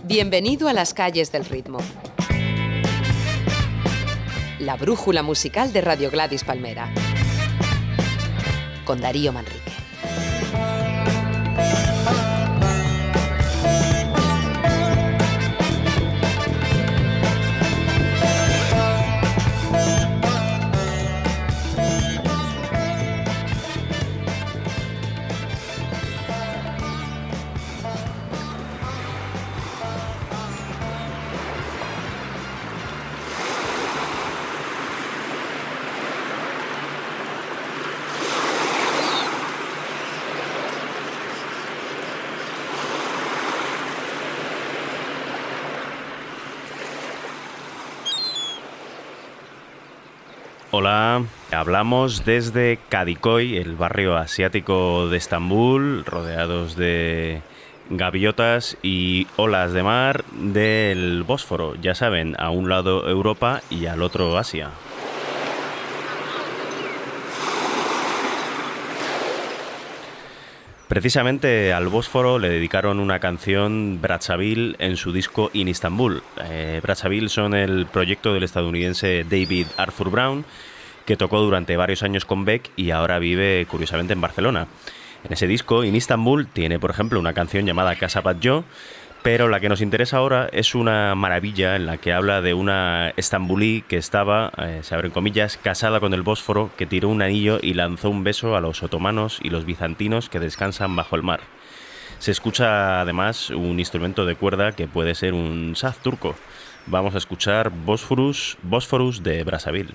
Bienvenido a las calles del ritmo. La brújula musical de Radio Gladys Palmera. Con Darío Manrique. Hola, hablamos desde Kadikoy, el barrio asiático de Estambul, rodeados de gaviotas y olas de mar del Bósforo. Ya saben, a un lado Europa y al otro Asia. Precisamente al Bósforo le dedicaron una canción Brazzaville en su disco In Istanbul. Brazzaville son el proyecto del estadounidense David Arthur Brown, que tocó durante varios años con Beck y ahora vive curiosamente en Barcelona. En ese disco, In Istanbul, tiene por ejemplo una canción llamada Casa Batlló, pero la que nos interesa ahora es una maravilla en la que habla de una estambulí que estaba, se abren comillas, casada con el Bósforo, que tiró un anillo y lanzó un beso a los otomanos y los bizantinos que descansan bajo el mar. Se escucha además un instrumento de cuerda que puede ser un saz turco. Vamos a escuchar Bósforus de Brazzaville.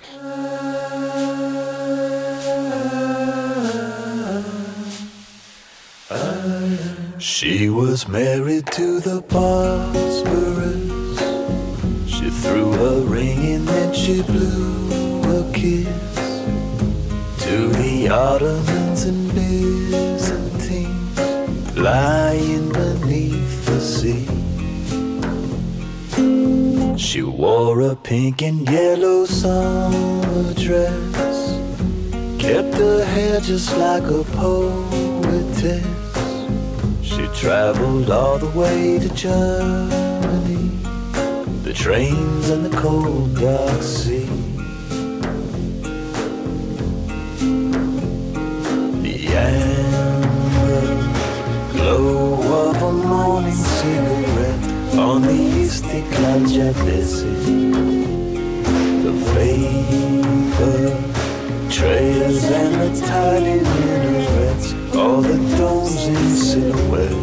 She was married to the Bosphorus. She threw a ring and then she blew a kiss to the Ottomans and Byzantines lying beneath the sea. She wore a pink and yellow summer dress, kept her hair just like a poetess. She traveled all the way to Germany, the trains and the cold dark sea. The amber glow of a morning cigarette on the Istiklal Caddesi. The vapor trails and the tiny minarets, all the domes in silhouette.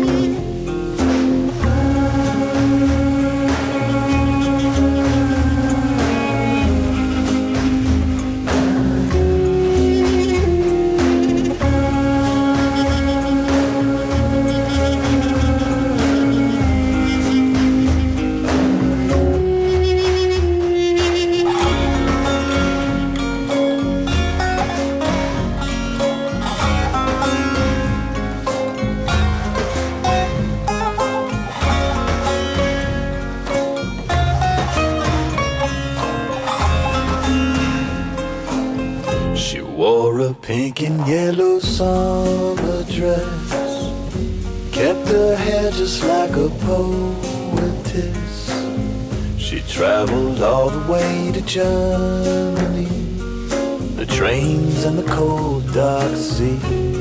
Pink and yellow summer dress, kept her hair just like a poetess. She traveled all the way to Germany, the trains and the cold dark sea.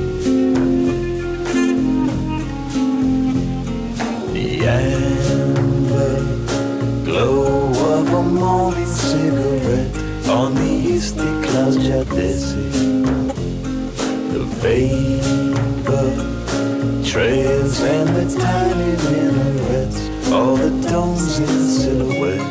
The amber glow of a morning cigarette on the Istiklal Caddesi. The vapor trails and the tiny minarets, all the domes in silhouette.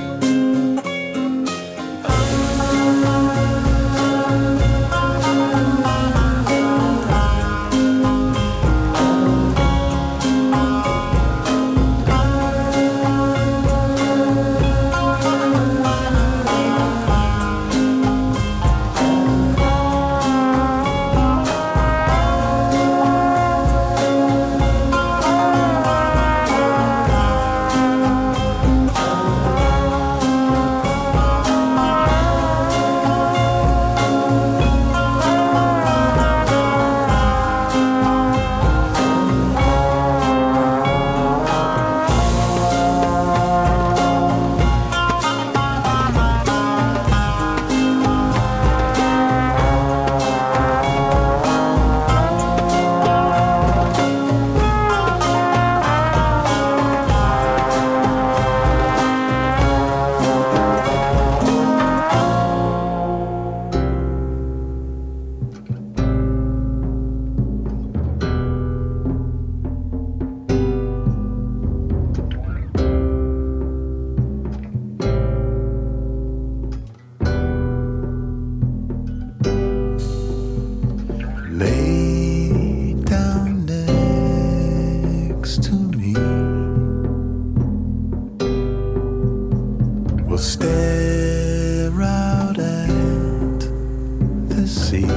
the sea.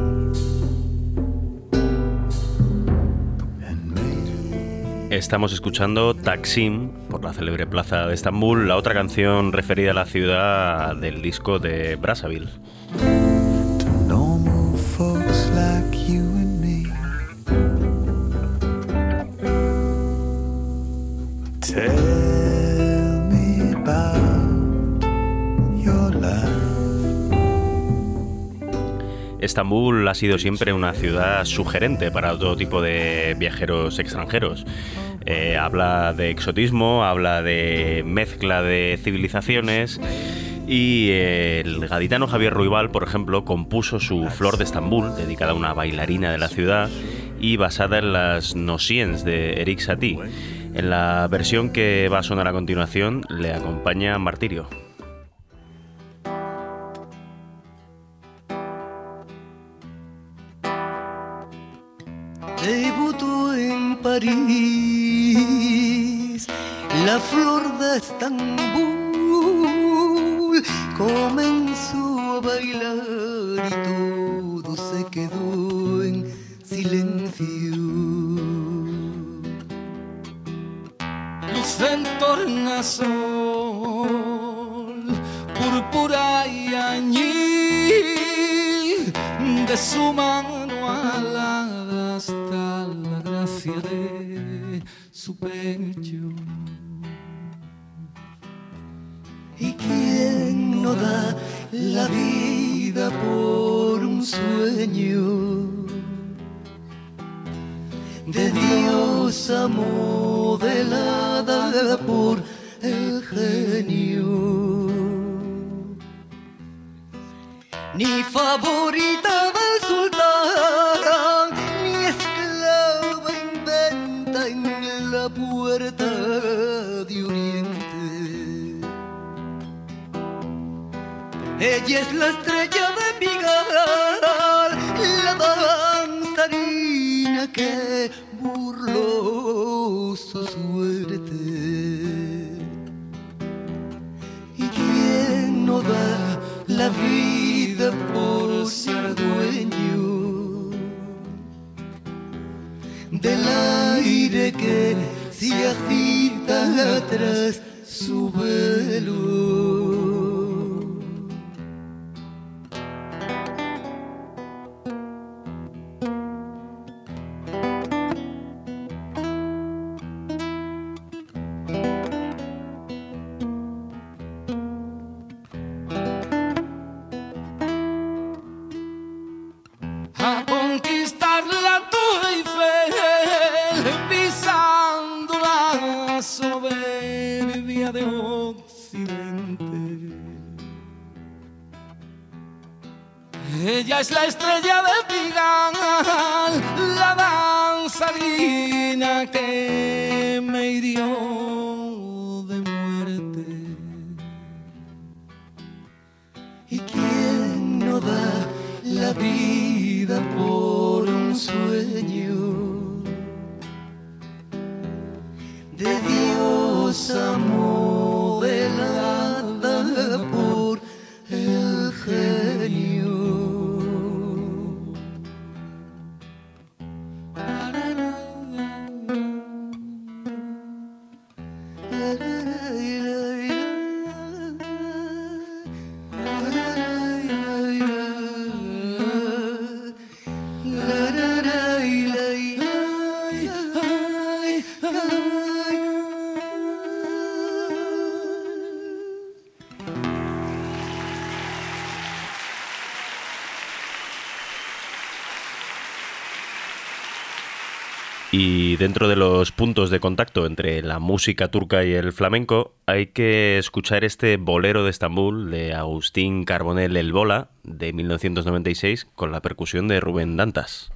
Estamos escuchando Taksim por la célebre plaza de Estambul, la otra canción referida a la ciudad del disco de Brazzaville. To normal folks like you and me. Tell me about your life. Estambul ha sido siempre una ciudad sugerente para todo tipo de viajeros extranjeros. Habla de exotismo, habla de mezcla de civilizaciones y el gaditano Javier Ruibal, por ejemplo, compuso su Flor de Estambul, dedicada a una bailarina de la ciudad y basada en las Nosiens de Erik Satie. En la versión que va a sonar a continuación le acompaña Martirio. Debutó en París la flor de Estambul, comenzó a bailar y todo se quedó en silencio. Luz en tornasol, púrpura y añil, de su mano alada hasta la gracia de su pecho. ¿Y quién no da la vida por un sueño de diosa modelada por el genio? Ni favorita del sultán, ni esclava inventa en la puerta de Oriente. Ella es la estrella de Pigalle, la danzarina que burló su suerte. ¿Y quién no da la vida por ser dueño del aire que se agita tras su velo? Ella es la estrella de Pigalle, la danzarina que me hirió de muerte. ¿Y quién no da la vida por un sueño de diosa modelada por el genio? Y dentro de los puntos de contacto entre la música turca y el flamenco hay que escuchar este bolero de Estambul de Agustín Carbonell El Bola de 1996 con la percusión de Rubén Dantas.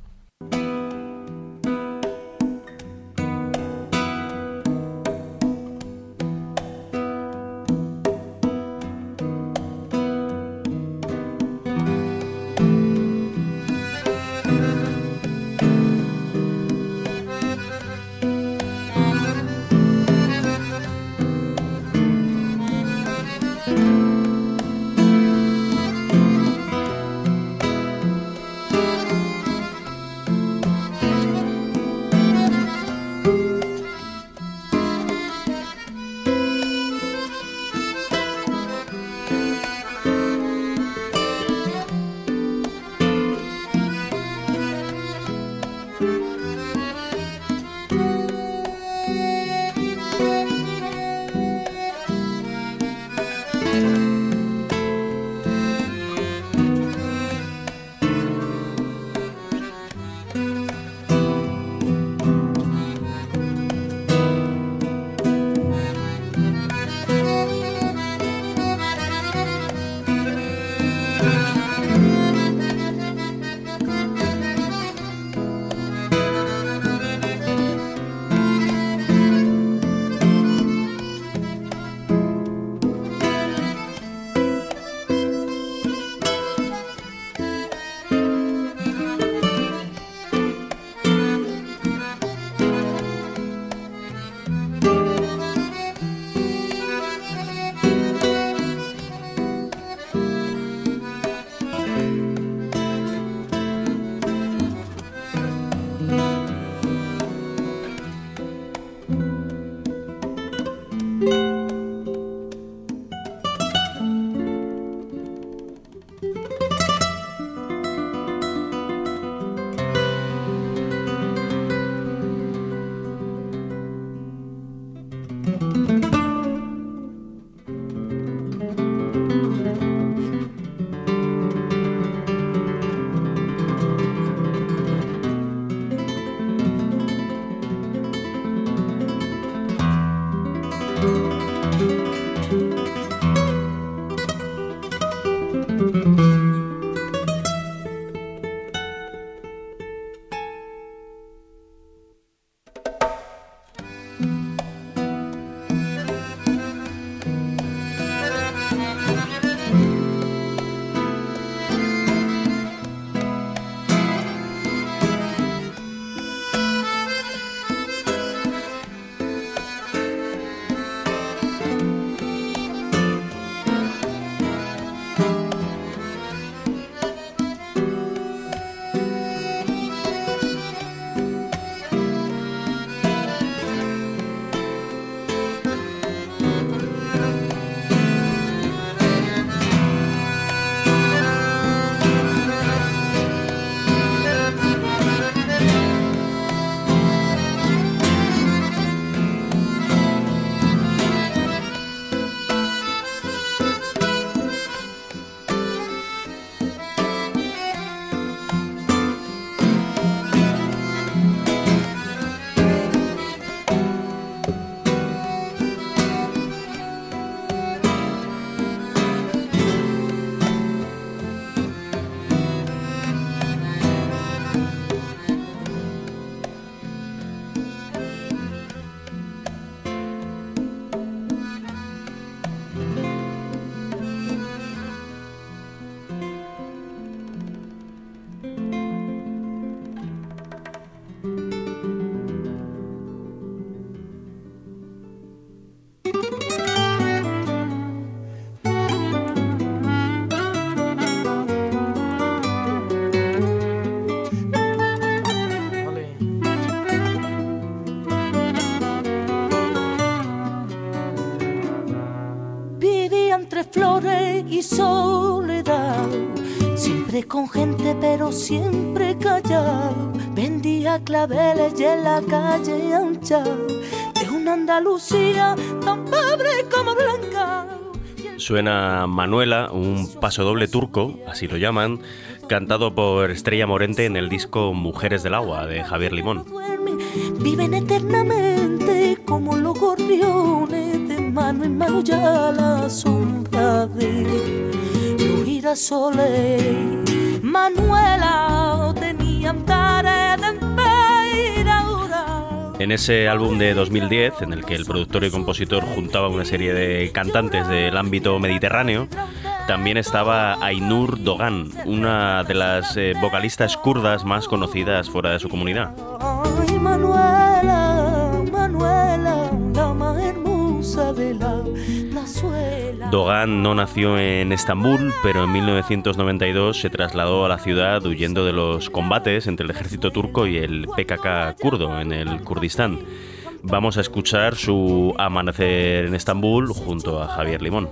valiente pero siempre callado, vendía claveles y en la calle anchado, de una Andalucía tan pobre como blanca. Suena Manuela, un pasodoble turco, así lo llaman, cantado por Estrella Morente en el disco Mujeres del Agua, de Javier Limón. Viven eternamente como los gorriones, de mano en mano ya la sombra de los girasoles. Manuela tenía andares de emperadora. En ese álbum de 2010, en el que el productor y compositor juntaba una serie de cantantes del ámbito mediterráneo, también estaba Aynur Doğan, una de las vocalistas kurdas más conocidas fuera de su comunidad. Ay, Manuela, Manuela, la más hermosa de la plazuela. Doğan no nació en Estambul, pero en 1992 se trasladó a la ciudad huyendo de los combates entre el ejército turco y el PKK kurdo en el Kurdistán. Vamos a escuchar su Amanecer en Estambul junto a Javier Limón.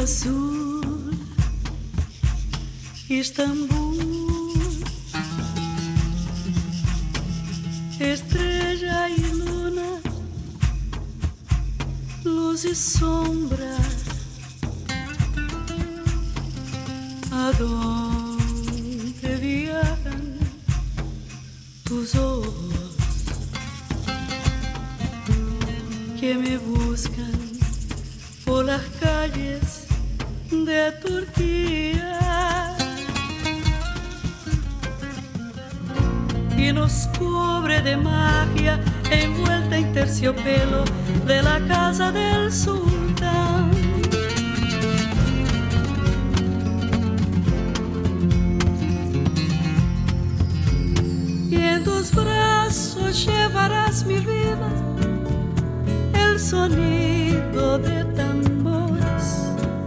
azul, Istambul, estrella y luna, luz y sombra. ¿A dónde viajan tus ojos que me buscan por las calles de Turquía y nos cubre de magia envuelta en terciopelo de la casa del sultán? Y en tus brazos llevarás mi vida, el sonido de tambores,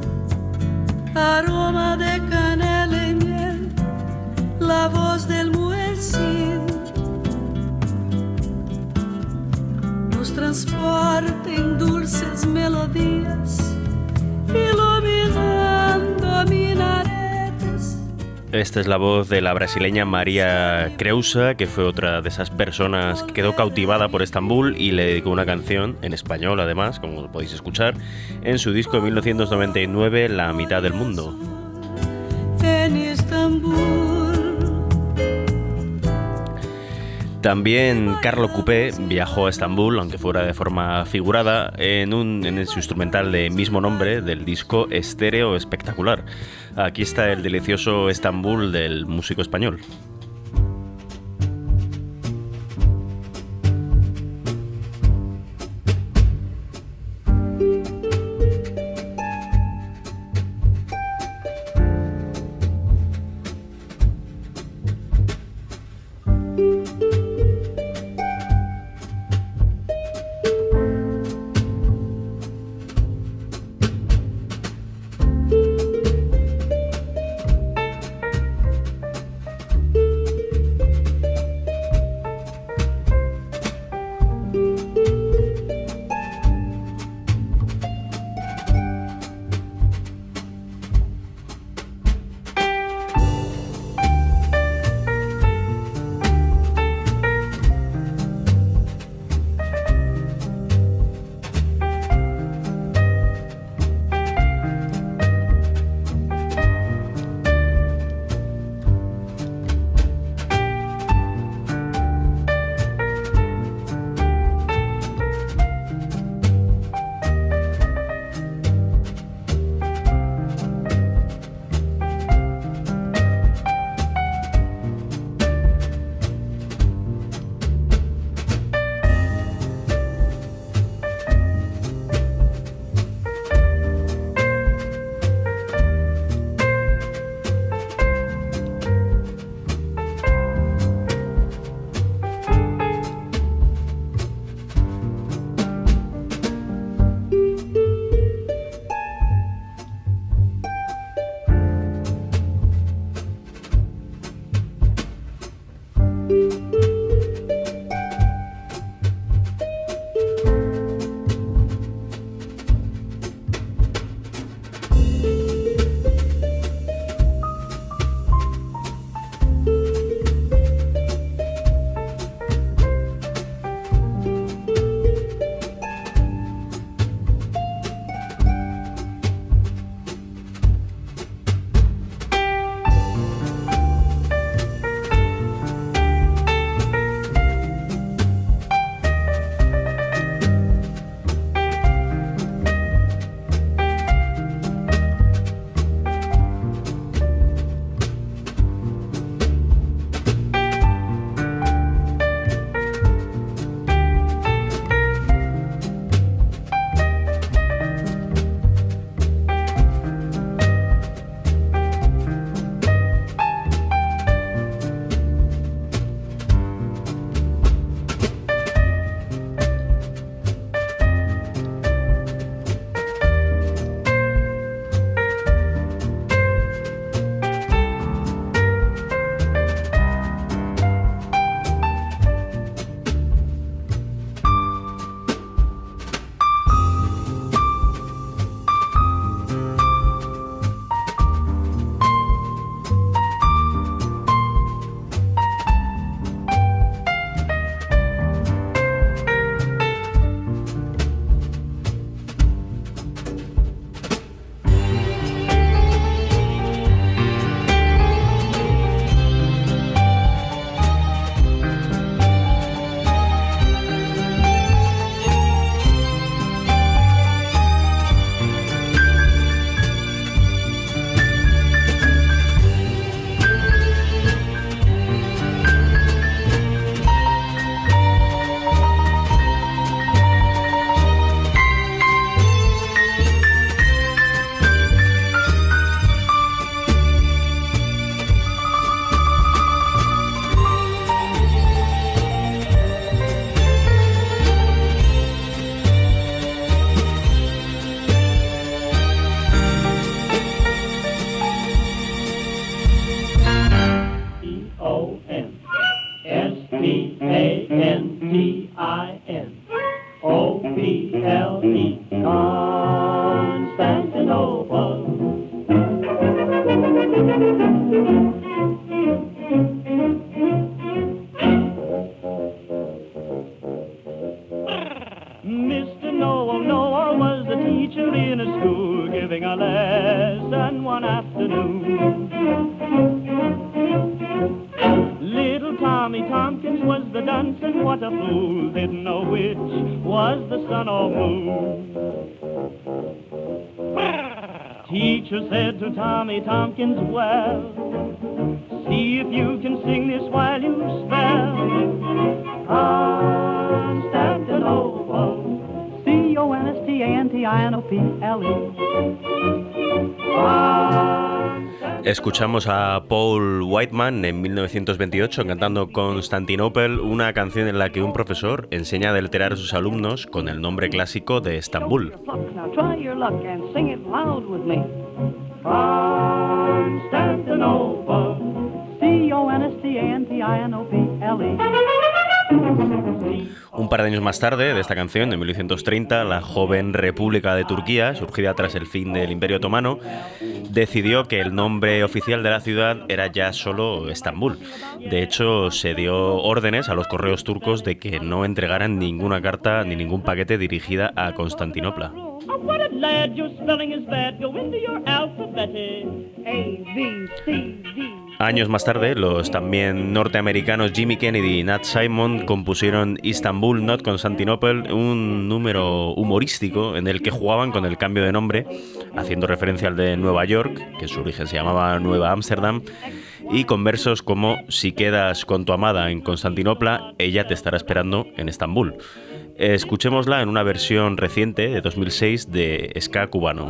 aroma de canela y miel, la voz del muezzin nos transporta en dulces melodías, iluminando minaretes. Esta es la voz de la brasileña María Creusa, que fue otra de esas personas que quedó cautivada por Estambul y le dedicó una canción, en español además, como podéis escuchar, en su disco de 1999, La mitad del mundo. En Estambul. También Carlo Coupé viajó a Estambul, aunque fuera de forma figurada, en su instrumental de mismo nombre del disco Estéreo Espectacular. Aquí está el delicioso Estambul del músico español. Constantinople. Mr. Noah was a teacher in a school, giving a lesson one afternoon. Little Tommy Tompkins was the dunce, and what a fool didn't know which was the sun or moon. Teacher said to Tommy Tompkins, well, see if you can sing this while you spell Constantinople. C-O-N-S-T-A-N-T-I-N-O-P-L-E. Escuchamos a Paul Whiteman en 1928 cantando Constantinople, una canción en la que un profesor enseña a deletrear a sus alumnos con el nombre clásico de Estambul. Constantinople. C-O-N-S-T-A-N-T-I-N-O-P-L-E. Un par de años más tarde de esta canción, en 1930, la joven República de Turquía, surgida tras el fin del Imperio Otomano, decidió que el nombre oficial de la ciudad era ya solo Estambul. De hecho, se dio órdenes a los correos turcos de que no entregaran ninguna carta ni ningún paquete dirigida a Constantinopla. Años más tarde, los también norteamericanos Jimmy Kennedy y Nat Simon compusieron Istanbul Not Constantinople, un número humorístico en el que jugaban con el cambio de nombre, haciendo referencia al de Nueva York, que en su origen se llamaba Nueva Ámsterdam, y con versos como si quedas con tu amada en Constantinopla, ella te estará esperando en Estambul. Escuchémosla en una versión reciente de 2006 de ska cubano.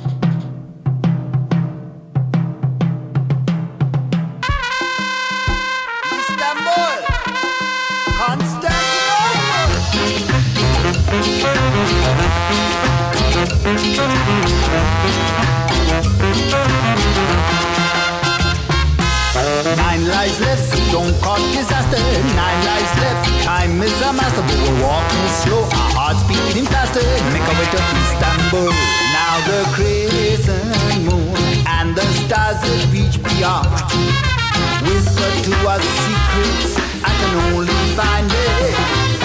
Nine lives left, so don't cause disaster. 9 lives left, time is a master, but we're walking slow, our hearts beating faster. Make our way to Istanbul. Now the crescent moon and the stars that reach beyond whisper to us secrets I can only find it.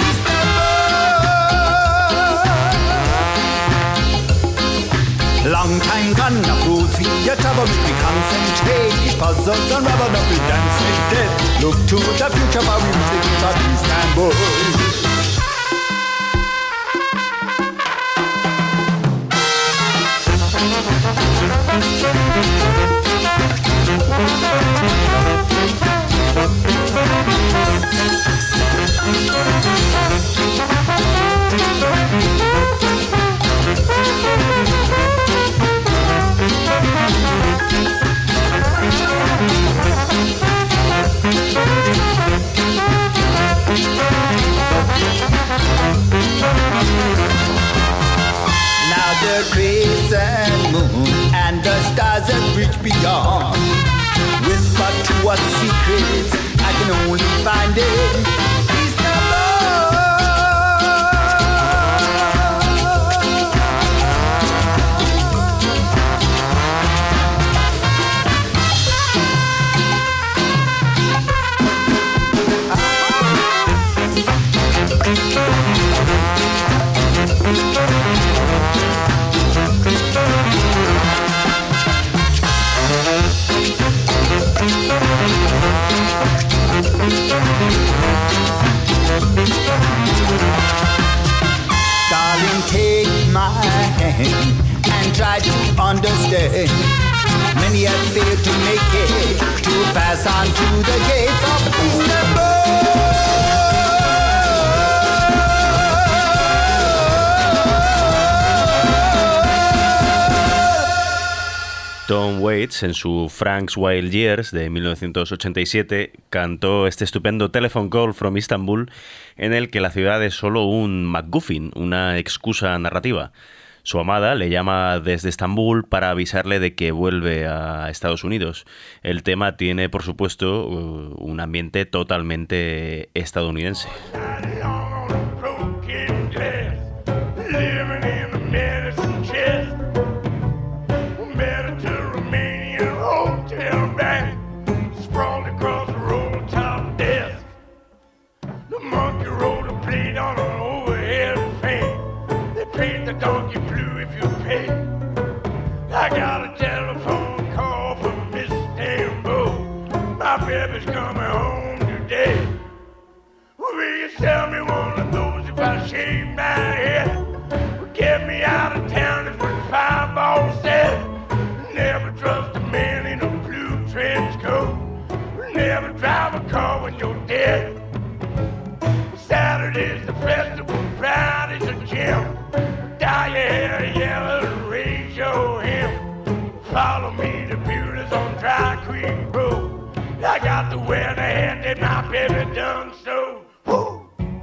Long time gone, now fools see your trouble, we concentrate, these puzzles unravel, now we dance with death. Look to the future, while we reach the gates of Istanbul. Now the crescent moon and the stars that reach beyond whisper to us secrets I can only find it. Darling, take my hand and try to understand. Many have failed to make it, to pass on to the gates of Istanbul. Tom Waits, en su Frank's Wild Years de 1987, cantó este estupendo Telephone Call from Istanbul, en el que la ciudad es solo un MacGuffin, una excusa narrativa. Su amada le llama desde Estambul para avisarle de que vuelve a Estados Unidos. El tema tiene, por supuesto, un ambiente totalmente estadounidense. Living in the middle if you pay. I got a telephone call from Miss Istanbul. My baby's coming home today. Will you sell me one of those if I shave my head? Get me out of town is what Fireball said. Never trust a man in a blue trench coat. Never drive a car when you're dead. Saturday's the festival, Friday's a gym. Dye your hair yellow and raise your hem. Follow me to Bueller's on Dry Creek Road. I got to wear the hat that my baby done so. Woo!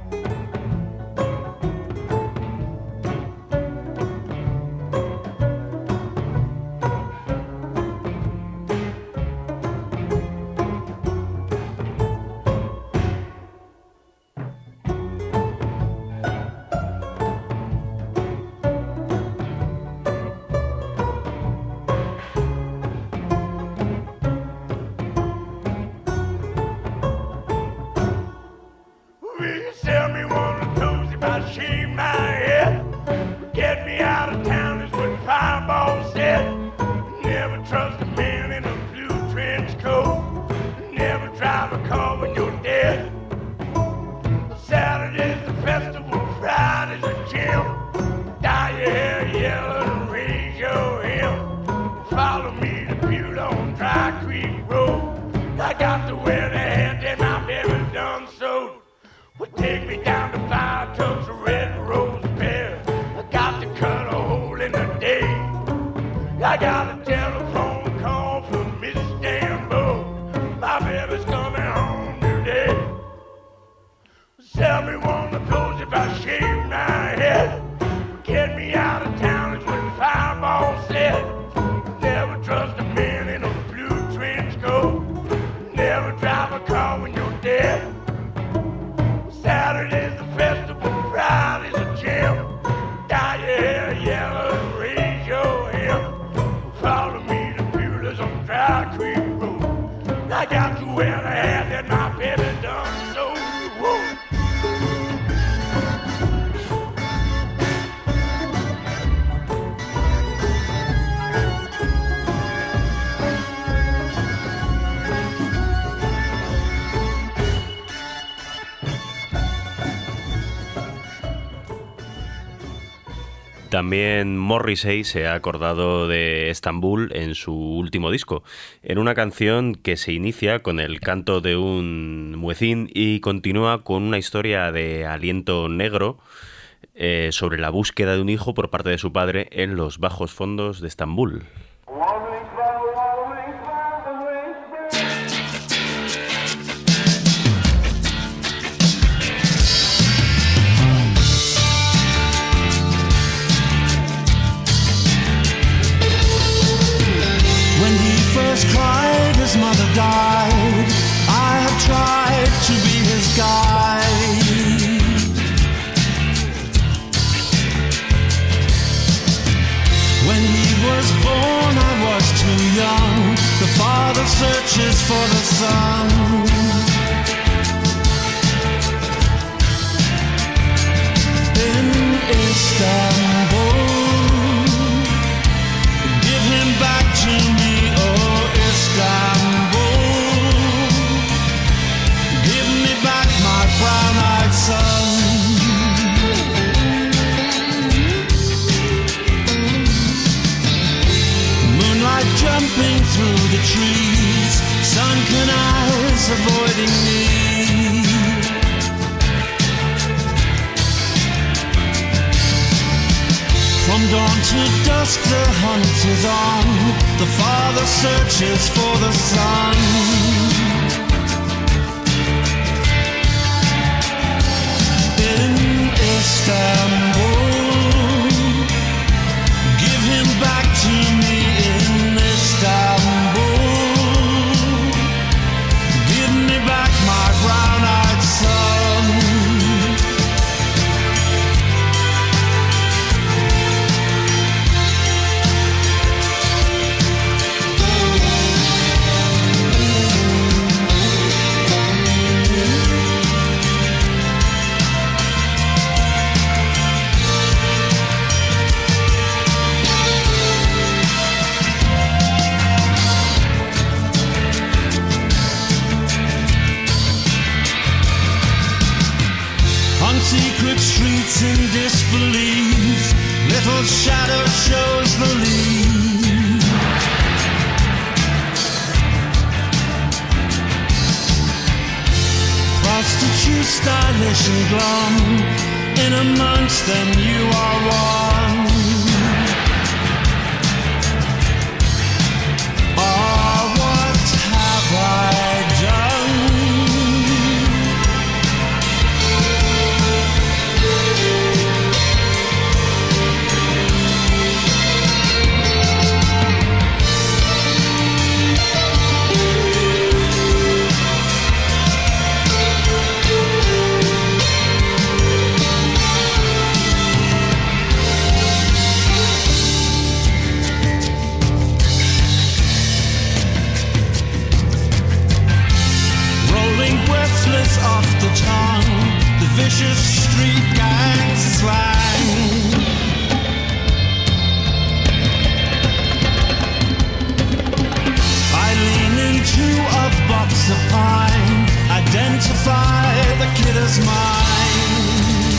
También Morrissey se ha acordado de Estambul en su último disco, en una canción que se inicia con el canto de un muecín y continúa con una historia de aliento negro sobre la búsqueda de un hijo por parte de su padre en los bajos fondos de Estambul. Cried, his mother died. I have tried to be his guide. When he was born, I was too young. The father searches for the son. In Istanbul, give him back to me. Istanbul, give me back my brown-eyed son. Moonlight jumping through the trees, sunken eyes avoiding me. From dawn to dusk the hunt is on. The father searches for the son. In Istanbul, give him back to me. In Istanbul, give me back my brown-eyed son. face in disbelief. Little shadow shows the lead. Prostitute, stylish and glum, in amongst them you are one. Oh, what have I done? Off the tongue, the vicious street gang slang. I lean into a box of pine, identify the kid as mine.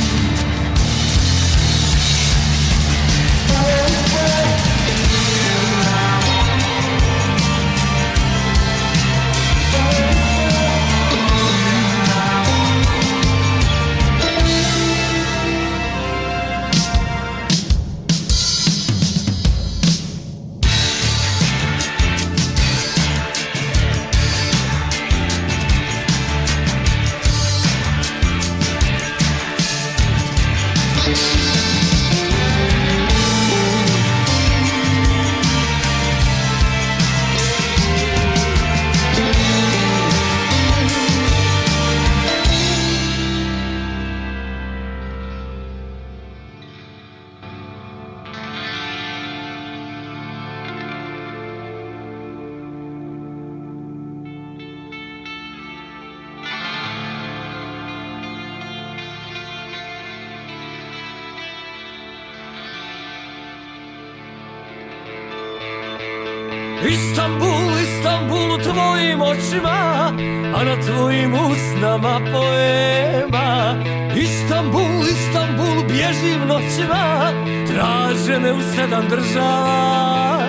Istanbul, Istanbul u tvojim očima, a na tvojim usnama poema. Istanbul, Istanbul, bježim noćima, traže me u 7 država.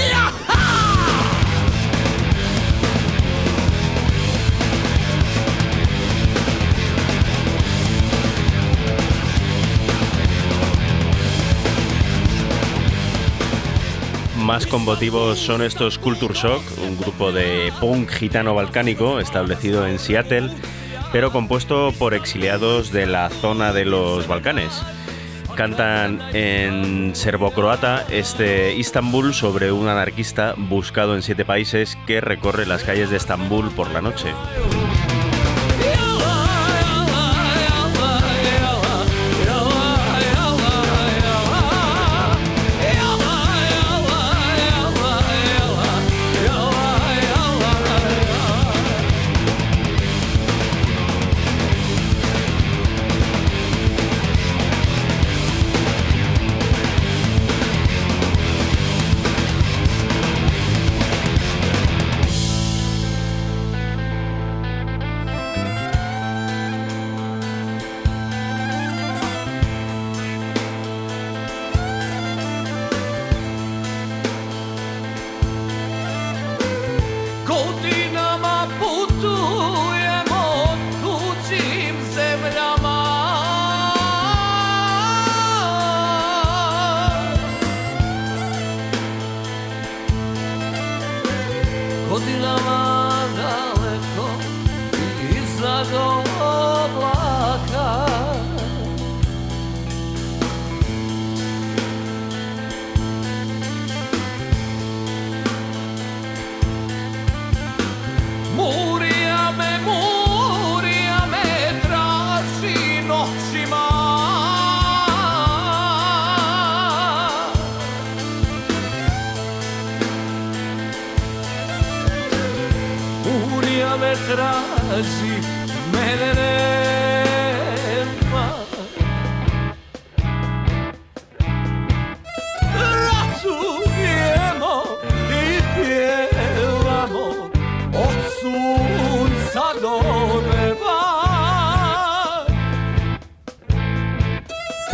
Más combativos son estos Culture Shock, un grupo de punk gitano balcánico establecido en Seattle, pero compuesto por exiliados de la zona de los Balcanes. Cantan en serbocroata este Istanbul sobre un anarquista buscado en 7 países que recorre las calles de Estambul por la noche. Traži, mene nema. Ratujemo i pjevamo od sunca do neba.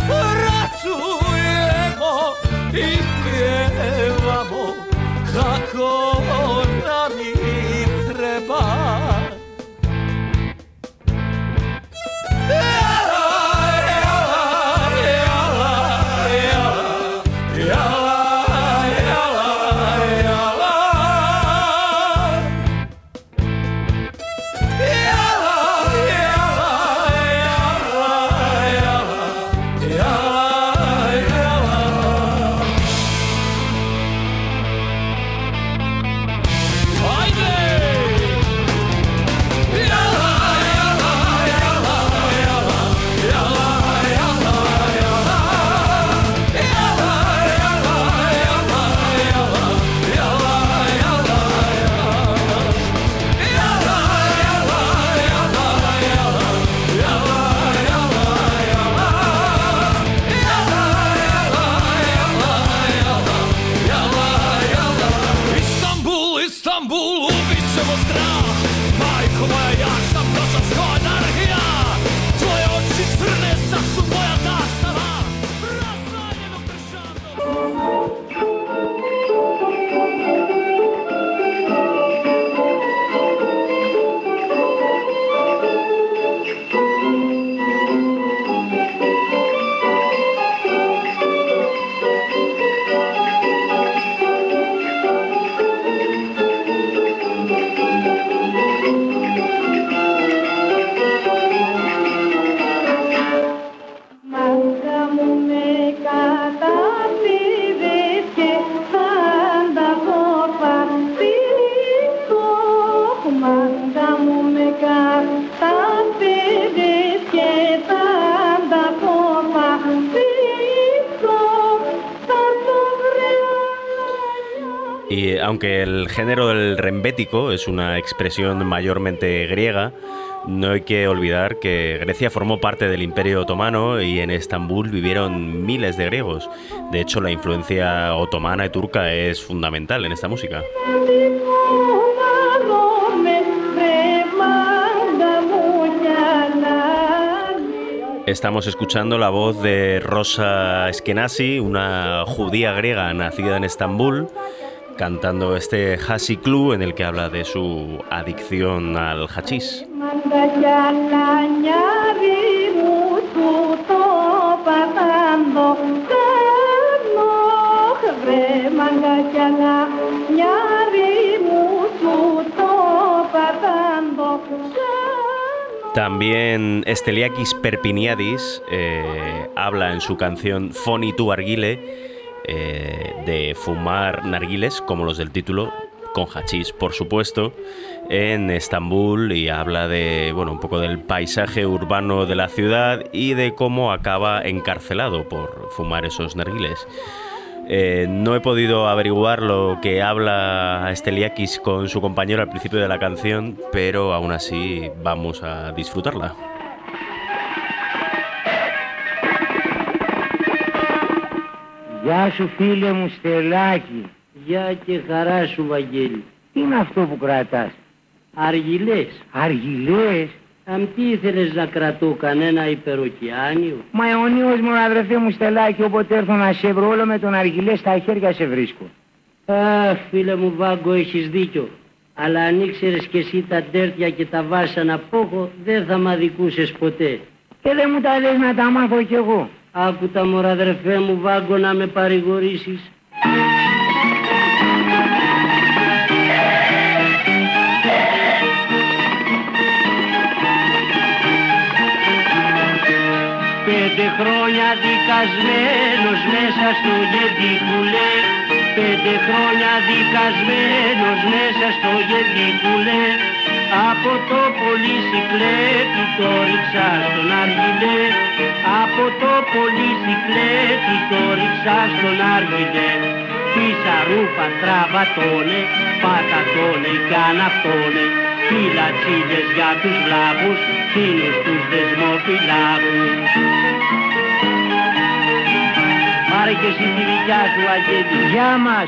Y aunque el género del rembético es una expresión mayormente griega, no hay que olvidar que Grecia formó parte del Imperio Otomano y en Estambul vivieron miles de griegos. De hecho, la influencia otomana y turca es fundamental en esta música. Estamos escuchando la voz de Rosa Eskenazi, una judía griega nacida en Estambul, cantando este Hasiklu, en el que habla de su adicción al hachís. También Steliakis Perpiniadis habla en su canción Foni tu Argile de fumar narguiles, como los del título, con hachís, por supuesto, en Estambul, y habla de, bueno, un poco del paisaje urbano de la ciudad y de cómo acaba encarcelado por fumar esos narguiles. No he podido averiguar lo que habla Steliakis con su compañero al principio de la canción, pero aún así vamos a disfrutarla. Γεια σου φίλε μου Στελάκη. Γεια και χαρά σου Βαγγέλη. Τι είναι αυτό που κρατάς? Αργυλές. Αργυλές? Τι ήθελες να κρατώ, κανένα υπεροκειάνιο? Μα αιωνίως μου αδερφέ μου Στελάκη, όποτε έρθω να σε βρω όλο με τον αργυλέ στα χέρια σε βρίσκω. Αχ φίλε μου Βάγκο, έχεις δίκιο. Αλλά αν ήξερες και εσύ τα ντέρτια και τα βάσανα που έχω, δεν θα μ' αδικούσες ποτέ. Και δεν μου τα λες να τα μάθω κι εγώ. Άκου τα μωρά αδερφέ μου Βάγκο να με παρηγορήσεις. Πέντε χρόνια δικασμένος μέσα στο γεντικουλέ. 5 χρόνια δικασμένος μέσα στο γεντικουλέ. Από το πολυσικλέτη το ρίξα στον αργυλέ. Από το πολυσικλέτη το ρίξα στον αργυλέ. Πίσα ρούφα τραβατώνε, πατατώνε κι αναυτώνε. Φυλατσίδες για τους βλάβους, φίλους τους δεσμοφυλάκους. Πάρε και εσύ τη δικιά σου Αγγέλη. Γεια μας.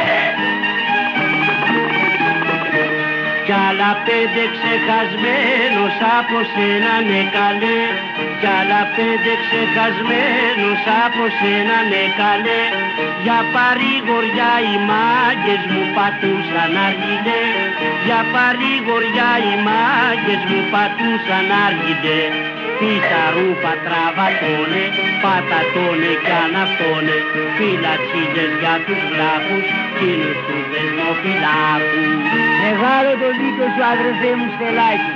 Κι άλλα 5 ξεχασμένος από σένα ναι καλέ. Κι άλλα 5 ξεχασμένος από σένα ναι καλέ. Για παρηγοριά οι μάγκες μου πατούσαν αργιλέ. Για παρηγοριά οι μάγκες μου πατούσαν αργιλέ. πίσα ρούφα τραβατώνε, πατατώνε κι αναυτώνε, φυλατσίλες για τους βλάχους, κοινούς τους δεσμοφυλάκους. Μεγάλο το δίκιο σου αδερφέ μου Στελάκη.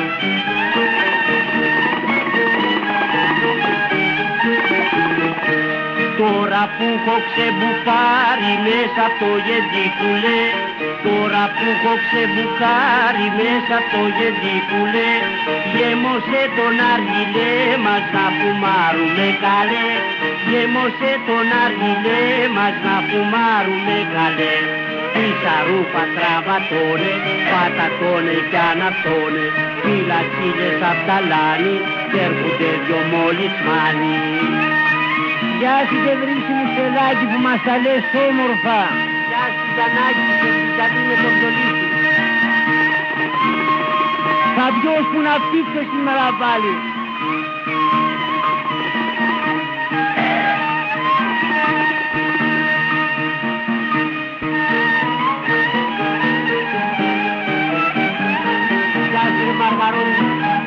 Τώρα που έχω ξεμπουκάρει μέσα από το γεντίκουλε, τώρα που έχω ξεμπουκάρει μέσα από το γεντίκουλε, γέμωσε τον αργιλέ μας να φουμάρουμε καλέ, γέμωσε τον αργιλέ μας να φουμάρουμε καλέ. Πίσα ρούφα τραβατώνε, πατατώνε κι αναυτώνε, φυλατσίλες απ' τα λάνη κι έρχονται δυο μολυσμάνοι. Γεια σου και βρύση μου Στελάκη που μας τα λες όμορφα. Γεια σου Γιαννάκη και καλή με τον Δολίτη. Θα ποιος που να φτύξω σήμερα πάλι. Γεια σου Μαργαρόνη.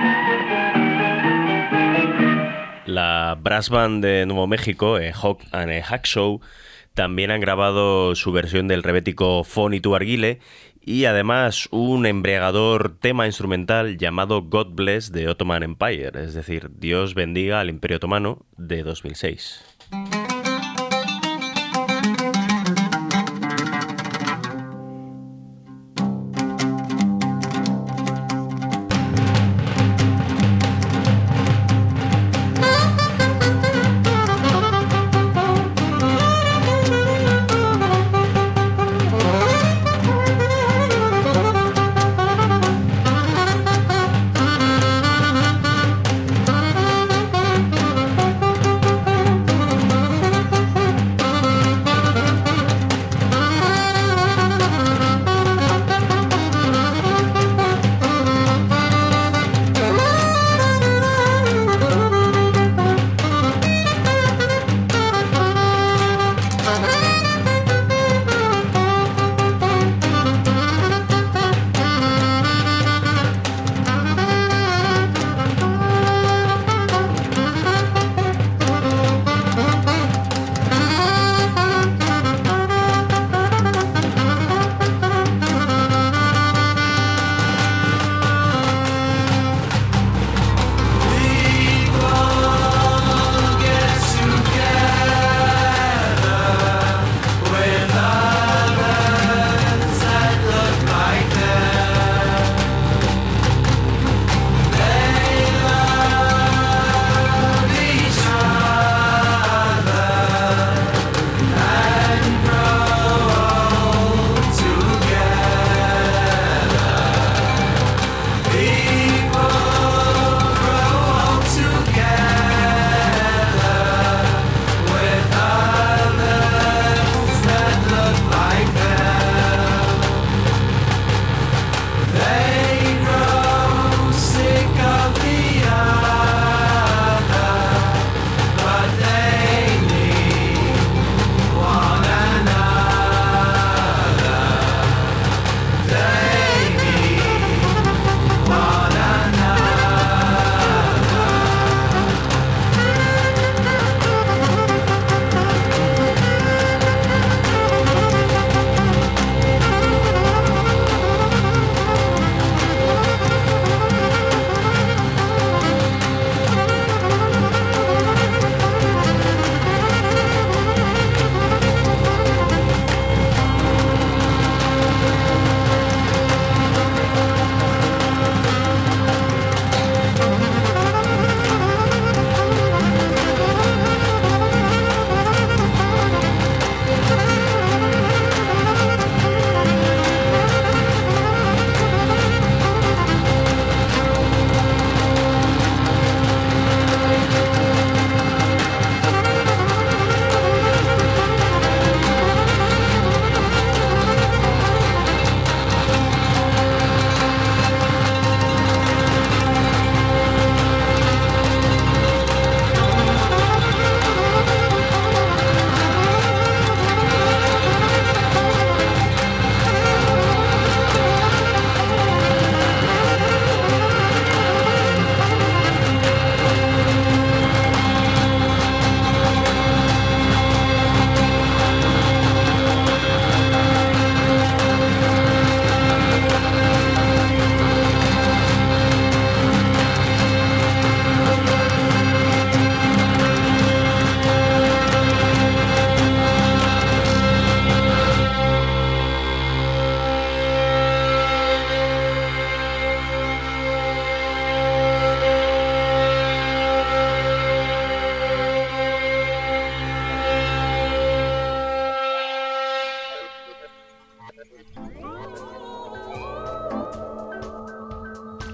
La brass band de Nuevo México, Hawk and Hack Show, también han grabado su versión del rebético Foni tu Arguile y además un embriagador tema instrumental llamado God Bless de Ottoman Empire, es decir, Dios bendiga al Imperio Otomano, de 2006.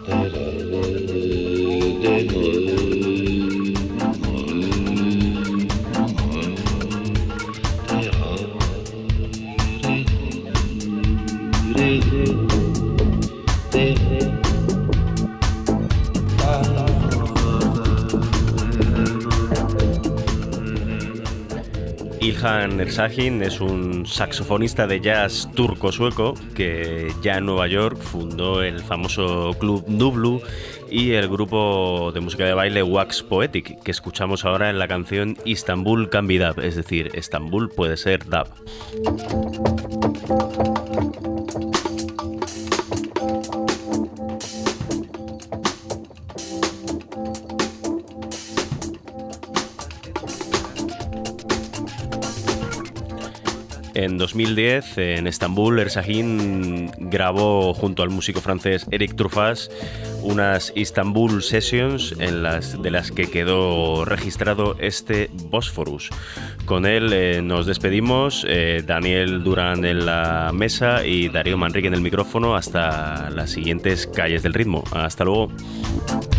İlhan Ersahin es un saxofonista de jazz turco-sueco que ya en Nueva York fundó el famoso club Nublu y el grupo de música de baile Wax Poetic, que escuchamos ahora en la canción Istanbul Can Be Dub, es decir, Estambul puede ser dub. En 2010, en Estambul, Ersahin grabó junto al músico francés Eric Truffaz unas Istanbul Sessions de las que quedó registrado este Bosphorus. Con él nos despedimos, Daniel Durán en la mesa y Darío Manrique en el micrófono hasta las siguientes calles del ritmo. Hasta luego.